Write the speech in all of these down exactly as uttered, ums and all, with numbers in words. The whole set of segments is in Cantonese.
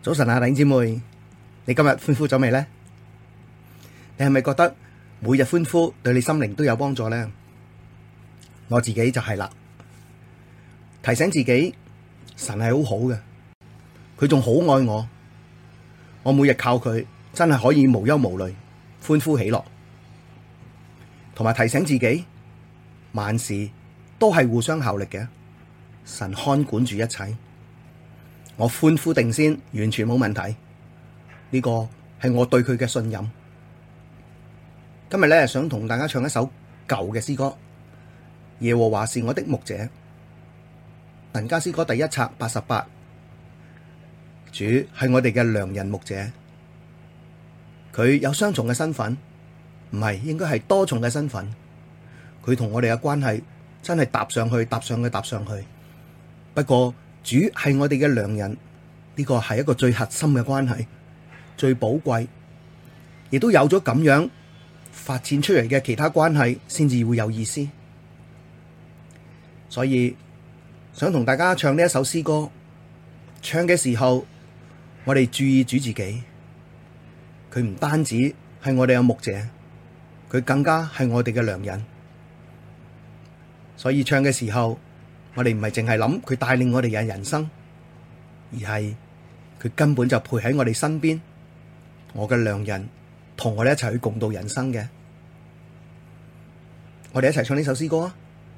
早晨啊，弟兄姊妹，你今日歡呼咗未呢？你係咪覺得每日歡呼對你心靈都有幫助呢？我自己就係啦，提醒自己神係好好嘅，佢仲好愛我，我每日靠佢真係可以無憂無慮，歡呼喜樂，同埋提醒自己萬事都係互相效力嘅，神看管住一切。我歡呼定先，完全冇問題。呢個係我對佢嘅信任。今日咧想同大家唱一首舊嘅詩歌，《耶和華是我的牧者》。民家詩歌第一冊八十八。主係我哋嘅良人牧者，佢有雙重嘅身份，唔係，應該係多重嘅身份。佢同我哋嘅關係真係搭上去，搭上去，搭上去。不過，主係我哋嘅良人，呢個係一個最核心嘅關係，最寶貴，亦都有咗咁樣發展出嚟嘅其他關係，先至會有意思。所以想同大家唱呢一首詩歌，唱嘅時候，我哋注意主自己，佢唔單止係我哋嘅牧者，佢更加係我哋嘅良人。所以唱嘅時候，我哋唔係淨係諗佢帶領我哋嘅人生，而係佢根本就陪喺我哋身邊，我嘅良人同我哋一齊去共度人生嘅。我哋一齊唱呢首詩歌啊！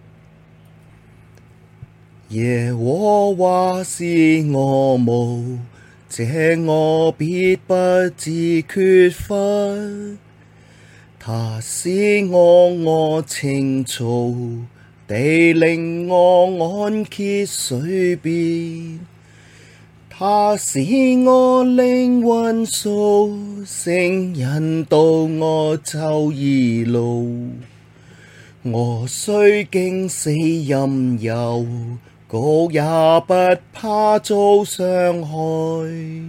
耶和華是我牧者，我必不致缺乏。他使我臥青草地，領我安歇水邊，他使我靈魂蘇醒，引導我走義路。我雖經死蔭幽谷，也不怕遭傷害，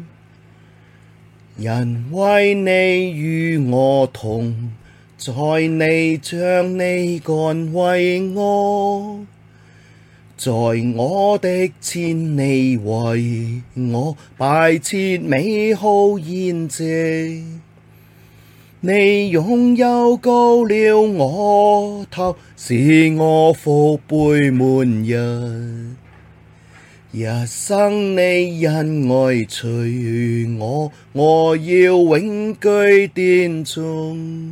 因為你與我同在，你杖你竿為我，在我的前你為我擺設美好筵席，你用油膏了我頭，使我福杯滿溢，一生你恩愛隨我，我要永居殿中。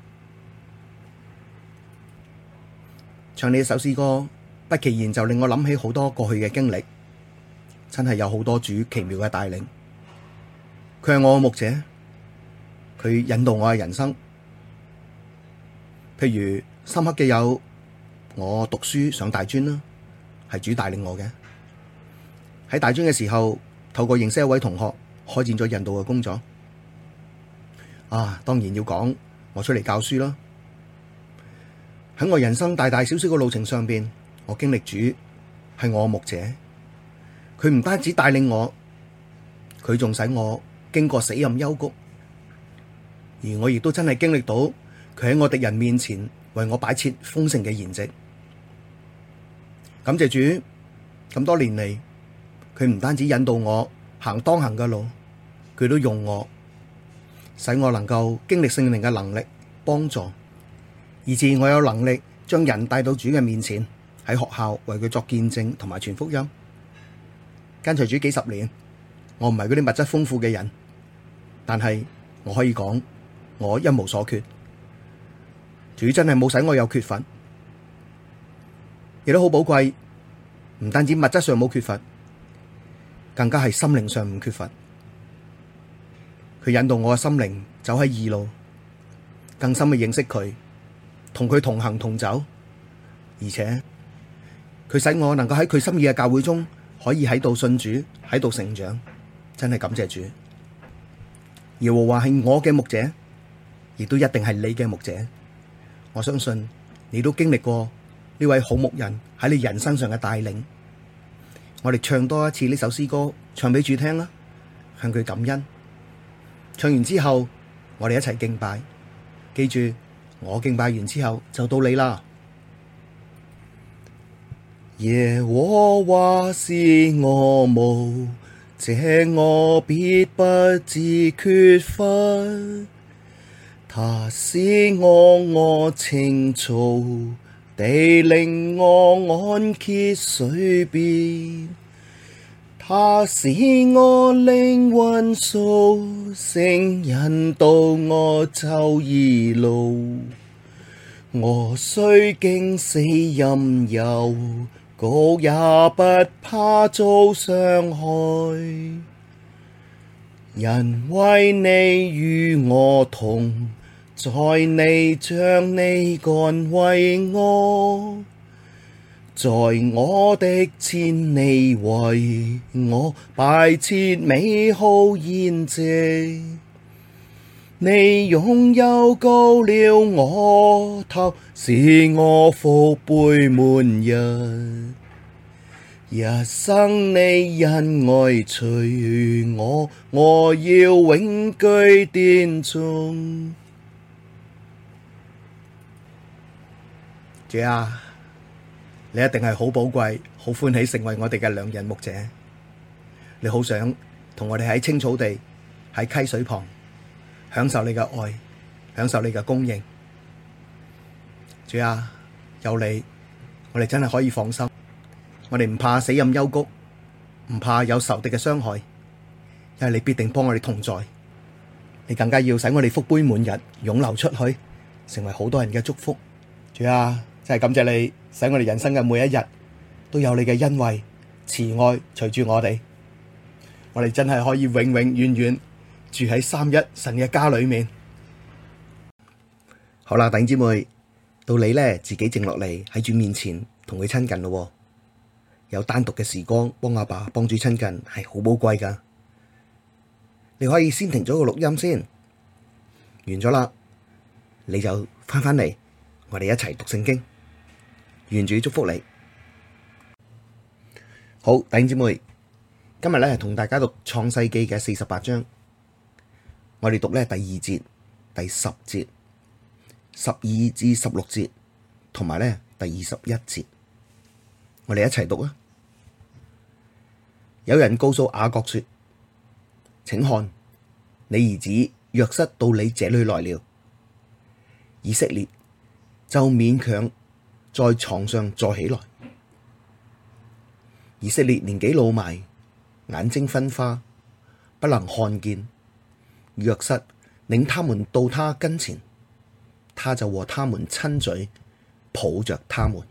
唱呢一首詩歌，不其然就令我諗起好多過去嘅經歷，真係有好多主奇妙嘅帶領。佢係我嘅牧者，佢引導我嘅人生。譬如深刻嘅有我讀書上大專啦，係主帶領我嘅。喺大專嘅時候，透過認識一位同學，開展咗引導嘅工作。啊，當然要講我出嚟教書啦。喺我人生大大小小嘅路程上邊，我經歷主係我嘅牧者，佢唔單止帶領我，佢仲使我經過死蔭幽谷，而我亦都真係經歷到佢喺我敵人面前為我擺設豐盛嘅筵席。感謝主，咁多年嚟，佢唔單止引導我行當行嘅路，佢都用我，使我能夠經歷聖靈嘅能力幫助。以致我有能力將人帶到主嘅面前，喺學校為佢作見證同埋傳福音。跟隨主幾十年，我唔係嗰啲物質豐富嘅人，但係我可以講我一無所缺。主真係冇使我有缺乏，亦都好寶貴。唔單止物質上冇缺乏，更加係心靈上唔缺乏。佢引導我嘅心靈走喺義路，更深嘅認識佢，同佢同行同走，而且佢使我能夠喺佢心意嘅教會中，可以喺度信主，喺度成長，真係感謝主。耶和華係我嘅牧者，亦都一定係你嘅牧者。我相信你都經歷過呢位好牧人喺你人生上嘅帶領。我哋唱多一次呢首詩歌，唱俾主聽啦，向佢感恩。唱完之後，我哋一齊敬拜，記住。我敬拜完之後就到你啦。耶和華是我牧這我必不致缺乏。他使我臥青草地，領我安歇水邊。他使我靈魂蘇醒，引導我走義路。我雖經死蔭幽谷，也不怕遭傷害，因為你與我同在，你杖你竿為我，在我的前你為我擺設美好筵席，你用油膏了我頭，使我福杯滿溢。一生你恩愛隨我，我要永居殿中。主啊，你一定係好寶貴、好歡喜成為我哋嘅良人牧者。你好想同我哋喺青草地、喺溪水旁享受你嘅愛，享受你嘅供應。主啊，有你，我哋真係可以放心。我哋唔怕死蔭幽谷，唔怕有仇敵嘅傷害，因為你必定幫我哋同在。你更加要使我哋福杯滿溢，湧流出去，成為好多人嘅祝福。主啊，真係感謝你，使我哋人生嘅每一日都有你嘅恩惠、慈愛隨住我哋。我哋真係可以永永遠遠住喺三一神嘅家裏面。好啦，弟兄姊妹，到你咧自己靜落嚟喺主面前同佢親近咯。有單獨嘅時光幫阿爸幫主親近係好寶貴噶。你可以先停咗個錄音先，完咗啦，你就翻返嚟，我哋一齊讀聖經。願主祝福你。好，弟兄姊妹，今日咧係同大家讀創世記嘅四十八章，我哋讀咧第二節、第十節、十二至十六節，同埋咧第二十一節。我哋一齊讀啊！有人告訴雅各說：請看，你兒子約瑟到你這裡來了。以色列就勉強在床上坐起來。以色列年紀老邁，眼睛昏花，不能看見。約瑟領他們到他跟前，他就和他們親嘴，抱着他們。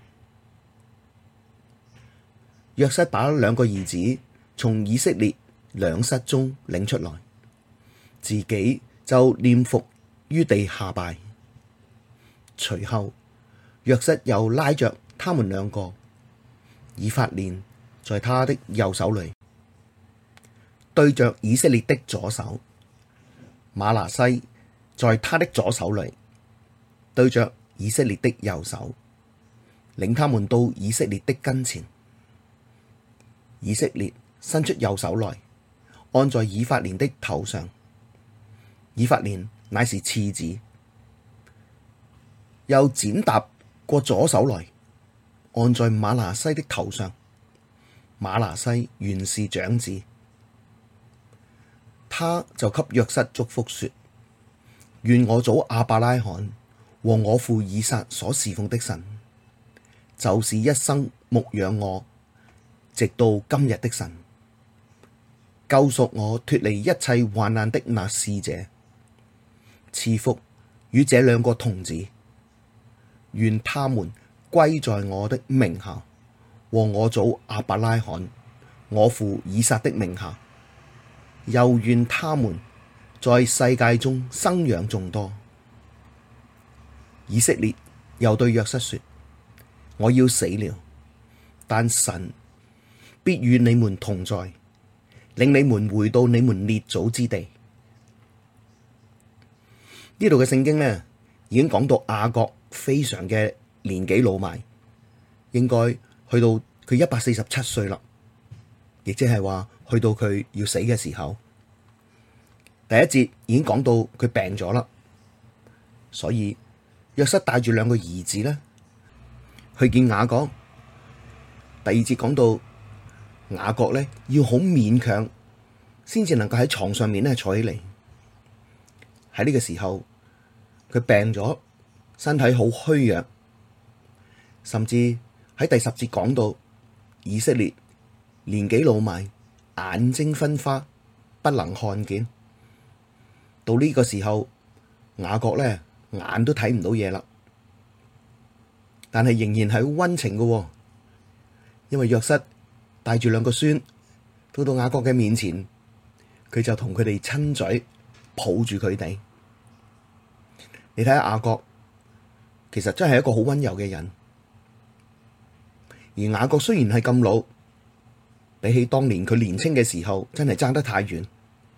約瑟把兩個兒子從以色列兩室中領出來，自己就臉伏於地下拜。隨後，約瑟又拉着他們兩個，以法蓮在他的右手裡，對着以色列的左手；瑪拿西在他的左手裡，對着以色列的右手，領他們到以色列的跟前。以色列伸出右手來，按在以法蓮的頭上。以法蓮乃是次子，又踐踏過左手來，按在瑪拿西的頭上。瑪拿西原是長子，他就給約瑟祝福說：願我祖亞伯拉罕和我父以撒所侍奉的神，就是一生牧養我直到今日的神，救贖我脫離一切患難的那使者，賜福與這兩個童子，願他們歸在我的名下，和我祖亞伯拉罕、我父以撒的名下，又願他們在世界中生養眾多。以色列又對約瑟說：我要死了，但神必與你們同在，領你們回到你們列祖之地。呢度嘅聖經呢，已經講到雅各非常嘅年紀老邁，應該去到佢一百四十七歲啦，亦即係話去到佢要死嘅時候。第一節已經講到佢病咗啦，所以約瑟帶住兩個兒子呢去見雅各。第二節講到雅各呢要好勉強先至能夠喺床上面咧坐起嚟。喺呢個時候，佢病咗，身體好虛弱，甚至喺第十節講到以色列年紀老邁，眼睛昏花，不能看見。到呢個時候，雅各咧眼都睇唔到嘢啦，但係仍然係好溫情嘅，因為約瑟帶住兩個孫到到雅各嘅面前，佢就同佢哋親嘴，抱住佢哋。你睇下雅各，其實真係一個好溫柔嘅人。而雅各雖然係咁老，比起當年佢年輕嘅時候，真係爭得太遠。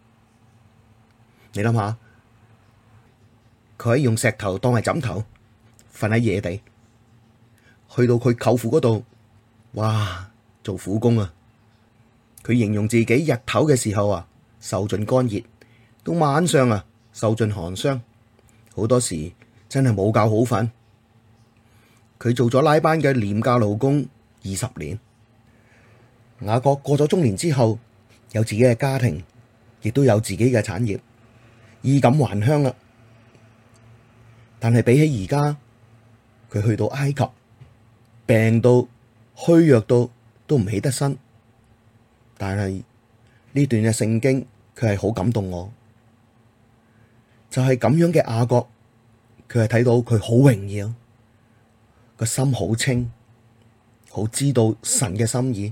你諗下，佢可以用石頭當係枕頭，瞓喺野地，去到佢舅父嗰度，哇，做苦工啊！佢形容自己日頭嘅時候啊，受盡乾熱；到晚上啊，受盡寒霜。好多時真係冇覺好瞓。佢做咗拉班嘅廉價勞工二十年。雅各過咗中年之後，有自己嘅家庭，亦都有自己嘅產業，衣錦還鄉啦。但係比起而家，佢去到埃及，病到虛弱到都唔起得身。但係呢段嘅聖經，佢係好感動我。就係咁樣嘅雅各，佢係睇到佢好榮耀，個心好清，好知道神嘅心意，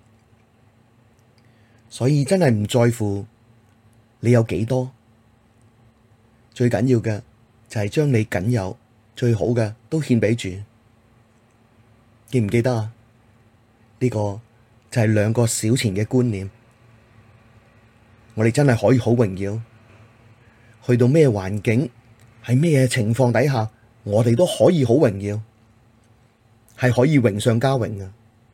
所以真係唔在乎你有幾多，最緊要嘅就係將你僅有最好嘅都獻俾主。記唔記得啊？呢個就係兩個小錢嘅觀念，我哋真係可以好榮耀。去到咩環境，喺咩情況底下，我哋都可以好榮耀，係可以榮上加榮嘅。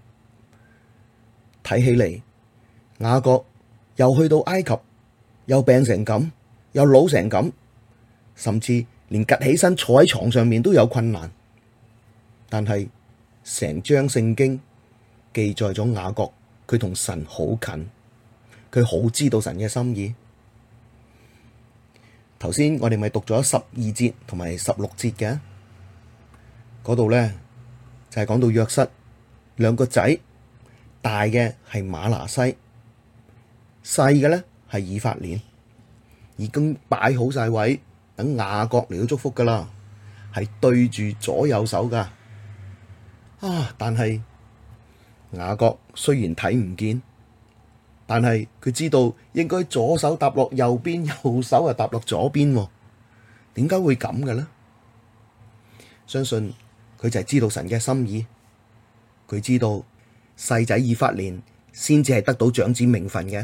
睇起嚟，雅各又去到埃及，又病成咁，又老成咁，甚至連趷起身坐喺床上面都有困難。但係成章聖經記載咗雅各，佢同神好近，佢好知道神嘅心意。頭先我哋咪讀咗十二節同埋十六節嘅，嗰度咧就係講到約瑟兩個仔，大嘅係瑪拿西，細嘅咧係以法蓮，已經擺好晒位，等雅各嚟到祝福噶啦，係對住左右手噶。啊！但係雅各雖然睇唔見，但係佢知道應該左手搭落右邊，右手啊搭落左邊。點解會咁嘅呢？相信佢就係知道神嘅心意。佢知道細仔以法蓮先至係得到長子名分嘅。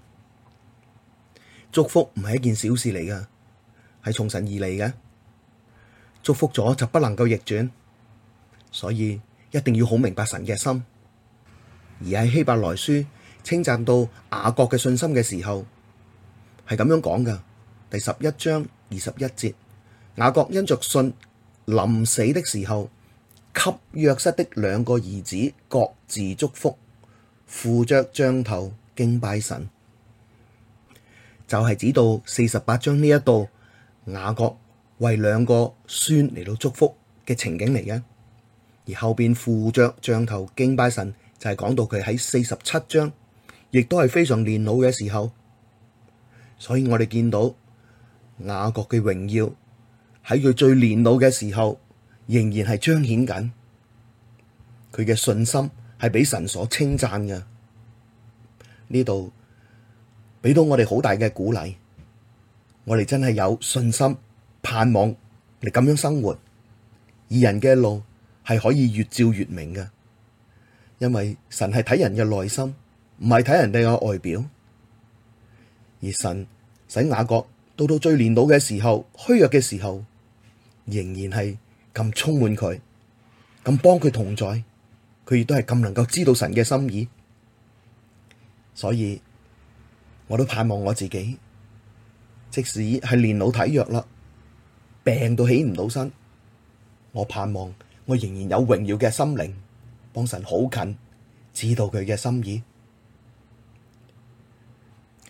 祝福唔係一件小事嚟噶，係從神而嚟嘅。祝福咗就不能夠逆轉，所以一定要好明白神嘅心。而喺希伯來書稱讚到雅各嘅信心嘅時候，係咁樣講噶。第十一章二十一節，雅各因着信，臨死的時候，給約瑟的兩個兒子各自祝福，扶着杖頭敬拜神。就係指到四十八章呢一度，雅各為兩個孫嚟到祝福嘅情景嚟嘅。而後邊扶着杖頭敬拜神，就係講到佢喺四十七章，亦都係非常年老嘅時候。所以我哋見到雅各嘅榮耀喺佢最年老嘅時候，仍然係彰顯緊佢嘅信心，係俾神所稱讚嘅。呢度俾到我哋好大嘅鼓勵，我哋真係有信心盼望嚟咁樣生活，義人嘅路係可以越照越明嘅，因為神係睇人嘅內心，唔係睇人哋嘅外表。而神使雅各到到最年老嘅時候，虛弱嘅時候，仍然係咁充滿佢，咁幫佢同在，佢亦都係咁能夠知道神嘅心意。所以我都盼望我自己，即使係年老體弱啦，病到起唔到身，我盼望我仍然有榮耀嘅心靈，幫神好近，知道佢嘅心意。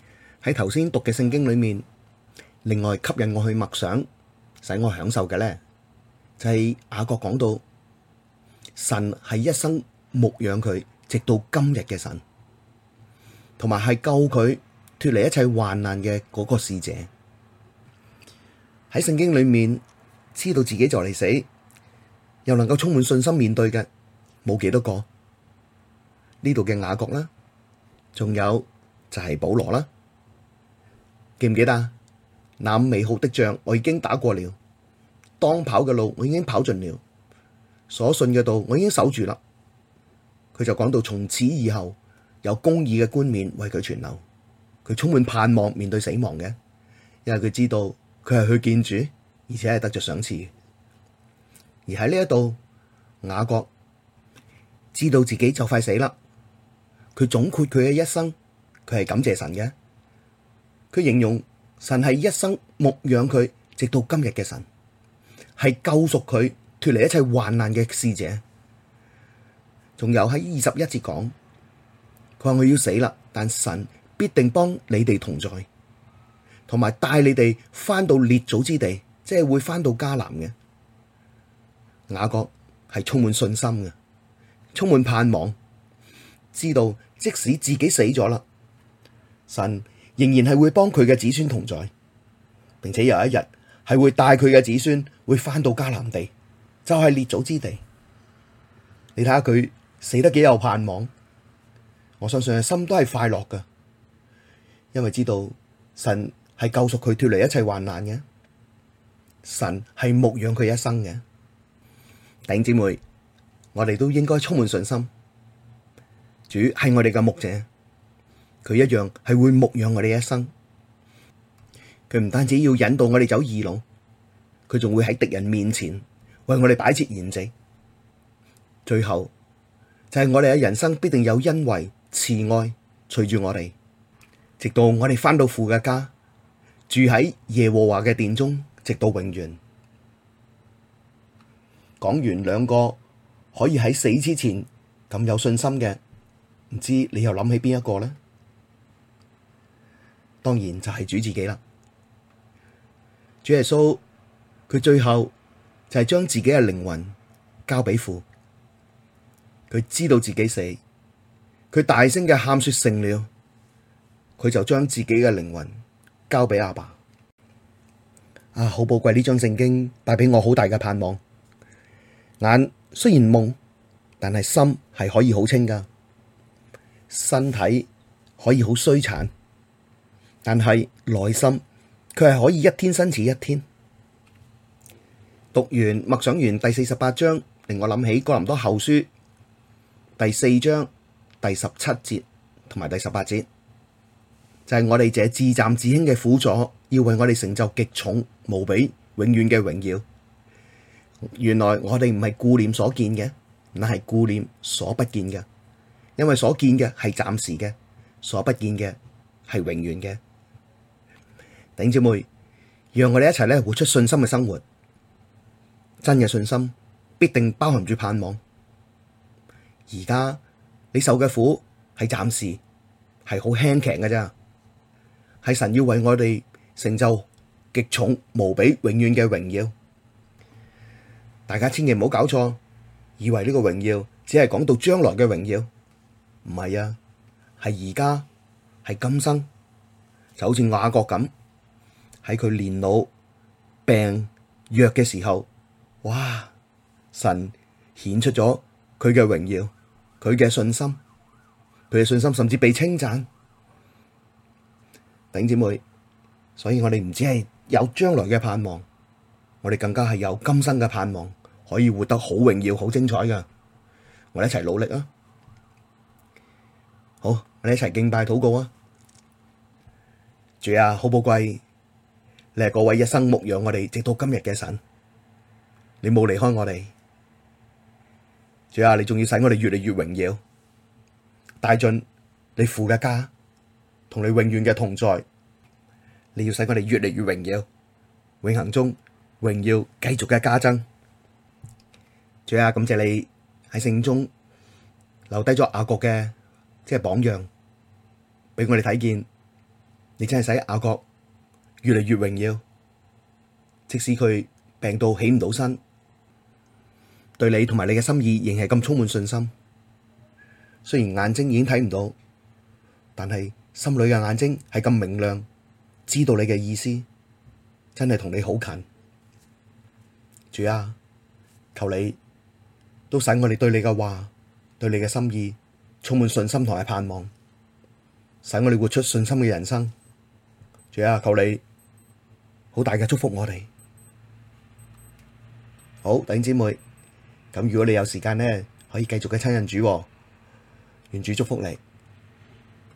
喺頭先讀嘅聖經裏面，另外吸引我去默想，使我享受嘅咧，就係雅各講到神係一生牧養佢直到今日嘅神，同埋係救佢脫離一切患難嘅嗰個使者。喺聖經裏面知道自己就嚟死，又能夠充滿信心面對嘅，冇幾多個。呢度嘅雅各啦，仲有就係保羅啦。記唔記得啊？那美好的仗我已經打過了，當跑嘅路我已經跑盡了，所信嘅道我已經守住啦。佢就講到從此以後有公義嘅冠冕為佢存留，佢充滿盼望面對死亡嘅，因為佢知道佢係去見主，而且係得着賞賜。而喺呢一度，雅各知道自己就快死啦，佢總括佢嘅一生，佢係感謝神嘅。佢形容神係一生牧養佢直到今日嘅神，係救贖佢脫離一切患難嘅使者。仲有喺二十一節講，佢話我要死啦，但神必定幫你哋同在，同埋帶你哋翻到列祖之地，即係會翻到迦南嘅。雅各係充滿信心嘅，充滿盼望，知道即使自己死咗啦，神仍然係會幫佢嘅子孫同在，並且有一日係會帶佢嘅子孫會翻到迦南地，就係列祖之地。你睇下佢死得幾有盼望，我相信心都係快樂噶，因為知道神係救贖佢脫離一切患難嘅，神係牧養佢一生嘅。弟兄姊妹，我哋都應該充滿信心，主係我哋嘅牧者，佢一樣係會牧養我哋一生。佢唔單止要引導我哋走義路，佢仲會喺敵人面前為我哋擺設筵席。最後就係我哋嘅人生必定有恩惠慈愛隨住我哋，直到我哋返到父嘅家，住喺耶和華嘅殿中，直到永遠。講完兩個可以喺死之前咁有信心嘅，唔知你又諗起邊一個呢？當然就係主自己啦。主耶穌佢最後就係將自己嘅靈魂交俾父，佢知道自己死，佢大聲嘅喊說成了，佢就將自己嘅靈魂交俾阿爸。啊，好寶貴，呢張聖經帶俾我好大嘅盼望。眼雖然蒙，但係心係可以好清噶，身體可以好衰殘，但係內心佢係可以一天新似一天。讀完默想完第四十八章，令我諗起哥林多後書第四章第十七節同埋第十八節，就係、是、我哋這至暫至輕嘅苦楚，要為我哋成就極重無比永遠嘅榮耀。原來我哋唔係顧念所見嘅，乃係顧念所不見嘅，因為所見嘅係暫時嘅，所不見嘅係永遠嘅。弟兄姊妹，讓我哋一齊咧活出信心嘅生活。真嘅信心必定包含住盼望。而家你受嘅苦係暫時，係好輕騎嘅咋，係神要為我哋成就極重無比永遠嘅榮耀。大家千祈唔好搞錯，以為呢個榮耀只係講到將來嘅榮耀，唔係啊，係而家，係今生，就好似雅各咁，喺佢年老病弱嘅時候，哇！神顯出咗佢嘅榮耀，佢嘅信心，佢嘅信心甚至被稱讚。弟兄姊妹，所以我哋唔止係有將來嘅盼望，我哋更加係有今生嘅盼望，可以活得好榮耀、好精彩㗎。我哋一齊努力啊！好，我哋一齊敬拜禱告啊！主啊，好寶貴，你係嗰位一生牧養我哋直到今日嘅神，你冇離開我哋。主啊，你仲要使我哋越嚟越榮耀，帶進你父嘅家，同你永遠嘅同在。你要使我哋越嚟越榮耀，永恆中榮耀繼續嘅加增。主啊，感謝你喺聖經中留低咗雅各嘅即係榜樣，俾我哋睇見你真係使雅各越嚟越榮耀，即使佢病到起唔到身，對你同埋你嘅心意仍係咁充滿信心。雖然眼睛已經睇唔到，但係心裡嘅眼睛係咁明亮，知道你嘅意思，真係同你好近。主啊，求你都使我哋對你嘅話，對你嘅心意充滿信心同埋盼望，使我哋活出信心嘅人生。主啊，求你好大嘅祝福我哋。好，弟兄姊妹，咁如果你有時間呢，可以繼續嘅親近主，願主祝福你。